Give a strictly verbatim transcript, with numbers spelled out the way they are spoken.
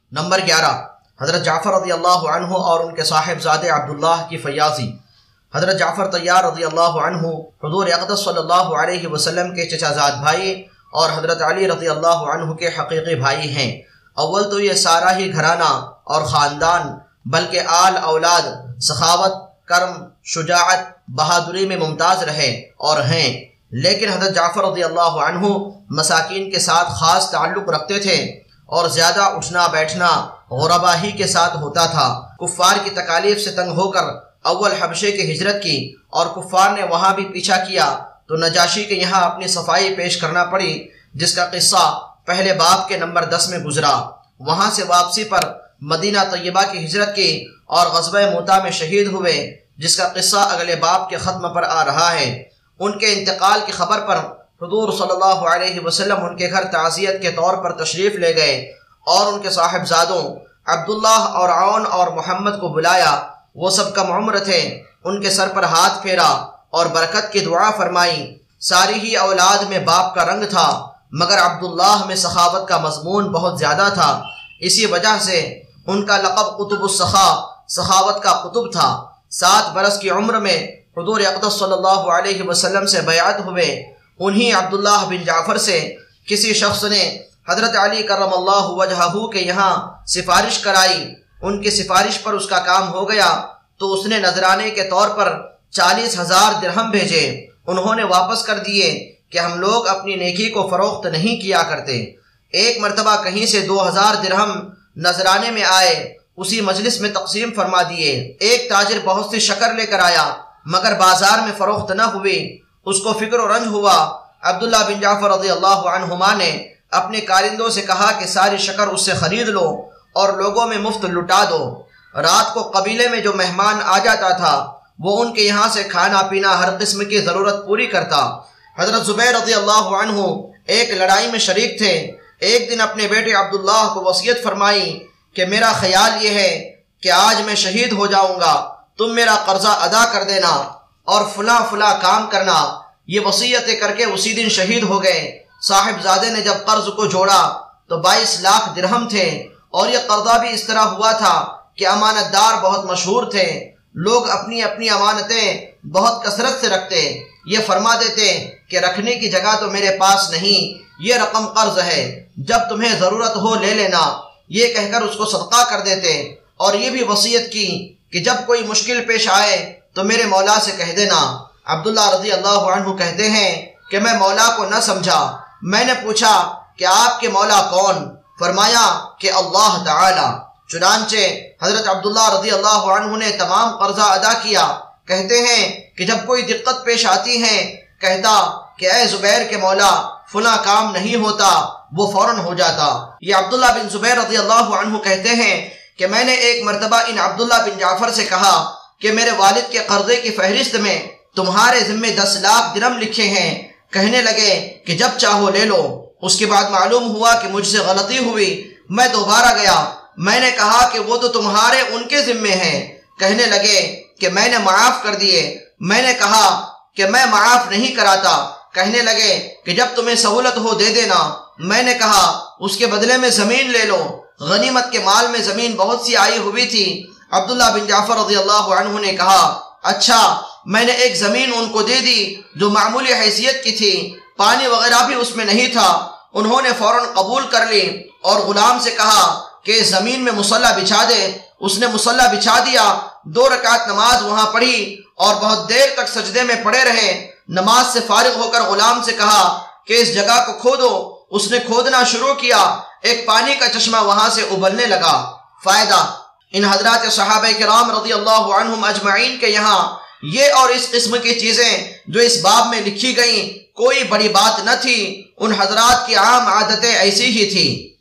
Number گیارہ، حضرت جعفر رضی اللہ عنہ اور ان کے صاحب زادے عبداللہ کی فیاضی۔ حضرت جعفر طیار رضی اللہ عنہ حضور اقدس صلی اللہ علیہ وسلم کے چچا زاد بھائی اور حضرت علی رضی اللہ عنہ کے حقیقی بھائی ہیں۔ اول تو یہ سارا ہی گھرانہ اور خاندان بلکہ آل اولاد سخاوت، کرم، شجاعت، بہادری میں ممتاز رہے اور ہیں، لیکن حضرت جعفر رضی اللہ عنہ مساکین کے ساتھ خاص تعلق رکھتے تھے اور زیادہ اٹھنا بیٹھنا غربا ہی کے ساتھ ہوتا تھا۔ کفار کی تکالیف سے تنگ ہو کر اول حبشے کی ہجرت کی اور کفار نے وہاں بھی پیچھا کیا تو نجاشی کے یہاں اپنی صفائی پیش کرنا پڑی، جس کا قصہ پہلے باب کے نمبر دس میں گزرا۔ وہاں سے واپسی پر مدینہ طیبہ کی ہجرت کی اور غزوہ موتا میں شہید ہوئے، جس کا قصہ اگلے باب کے ختم پر آ رہا ہے۔ ان کے انتقال کی خبر پر حضور صلی اللہ علیہ وسلم ان کے گھر تعزیت کے طور پر تشریف لے گئے اور ان کے صاحبزادوں عبداللہ اور عون اور محمد کو بلایا۔ وہ سب کم عمر تھے، ان کے سر پر ہاتھ پھیرا اور برکت کی دعا فرمائی۔ ساری ہی اولاد میں باپ کا رنگ تھا، مگر عبداللہ میں سخاوت کا مضمون بہت زیادہ تھا، اسی وجہ سے ان کا لقب قطب السخا، سخاوت کا قطب تھا۔ سات برس کی عمر میں حضور اقدس صلی اللہ علیہ وسلم سے بیعت ہوئے۔ انہی عبداللہ بن جعفر سے کسی شخص نے حضرت علی کرم اللہ وجہہ کے یہاں سفارش کرائی۔ ان کی سفارش پر اس کا کام ہو گیا تو اس نے نذرانے کے طور پر چالیس ہزار درہم بھیجے۔ انہوں نے واپس کر دیے کہ ہم لوگ اپنی نیکی کو فروخت نہیں کیا کرتے۔ ایک مرتبہ کہیں سے دو ہزار درہم نذرانے میں آئے، اسی مجلس میں تقسیم فرما دیے۔ ایک تاجر بہت سی شکر لے کر آیا مگر بازار میں فروخت نہ ہوئی، اس کو فکر و رنج ہوا۔ عبداللہ بن جعفر رضی اللہ عنہما نے اپنے کارندوں سے کہا کہ ساری شکر اس سے خرید لو اور لوگوں میں مفت لٹا دو۔ رات کو قبیلے میں جو مہمان آ جاتا تھا وہ ان کے یہاں سے کھانا پینا ہر قسم کی ضرورت پوری کرتا۔ حضرت زبیر رضی اللہ عنہ ایک لڑائی میں شریک تھے۔ ایک دن اپنے بیٹے عبداللہ کو وصیت فرمائی کہ میرا خیال یہ ہے کہ آج میں شہید ہو جاؤں گا، تم میرا قرضہ ادا کر دینا اور فلاں فلاں کام کرنا۔ یہ وصیتیں کر کے اسی دن شہید ہو گئے۔ صاحبزادے نے جب قرض کو جوڑا تو بائیس لاکھ درہم تھے، اور یہ قرضہ بھی اس طرح ہوا تھا کہ امانت دار بہت مشہور تھے، لوگ اپنی اپنی امانتیں بہت کثرت سے رکھتے، یہ فرما دیتے کہ رکھنے کی جگہ تو میرے پاس نہیں، یہ رقم قرض ہے، جب تمہیں ضرورت ہو لے لینا، یہ کہہ کر اس کو صدقہ کر دیتے۔ اور یہ بھی وصیت کی کہ جب کوئی مشکل پیش آئے تو میرے مولا سے کہہ دینا۔ عبداللہ رضی اللہ عنہ کہتے ہیں کہ میں مولا کو نہ سمجھا، میں نے پوچھا کہ آپ کے مولا کون؟ فرمایا کہ اللہ تعالی۔ چنانچہ حضرت عبداللہ رضی اللہ عنہ نے تمام قرضہ ادا کیا۔ کہتے ہیں کہ جب کوئی دقت پیش آتی ہے کہتا کہ اے زبیر کے مولا فلاں کام نہیں ہوتا، وہ فوراً ہو جاتا۔ یہ عبداللہ بن زبیر رضی اللہ عنہ کہتے ہیں کہ میں نے ایک مرتبہ ان عبداللہ بن جعفر سے کہا کہ میرے والد کے قرضے کی فہرست میں تمہارے ذمے دس لاکھ درہم لکھے ہیں۔ کہنے لگے کہ جب چاہو لے لو۔ اس کے بعد معلوم ہوا کہ مجھ سے غلطی ہوئی، میں دوبارہ گیا، میں نے کہا کہ وہ تو تمہارے ان کے ذمے ہیں۔ کہنے لگے کہ میں نے معاف کر دیے۔ میں نے کہا کہ میں معاف نہیں کراتا۔ کہنے لگے کہ جب تمہیں سہولت ہو دے دینا۔ میں نے کہا اس کے بدلے میں زمین لے لو۔ غنیمت کے مال میں زمین بہت سی آئی ہوئی تھی۔ عبداللہ بن جعفر رضی اللہ عنہ نے کہا اچھا، میں نے ایک زمین ان کو دے دی جو معمولی حیثیت کی تھی، پانی وغیرہ بھی اس میں نہیں تھا۔ انہوں نے فوراً قبول کر لی اور غلام سے کہا کہ زمین میں مصلی بچھا دے۔ اس نے مصلی بچھا دیا، دو رکعت نماز وہاں پڑھی اور بہت دیر تک سجدے میں پڑے رہے۔ نماز سے فارغ ہو کر غلام سے کہا کہ اس جگہ کو کھودو۔ اس نے کھودنا شروع کیا، ایک پانی کا چشمہ وہاں سے ابلنے لگا۔ فائدہ: ان حضرات صحابہ کرام رضی اللہ عنہم اجمعین کے یہاں یہ اور اس قسم کی چیزیں جو اس باب میں لکھی گئیں کوئی بڑی بات نہ تھی، ان حضرات کی عام عادتیں ایسی ہی تھی۔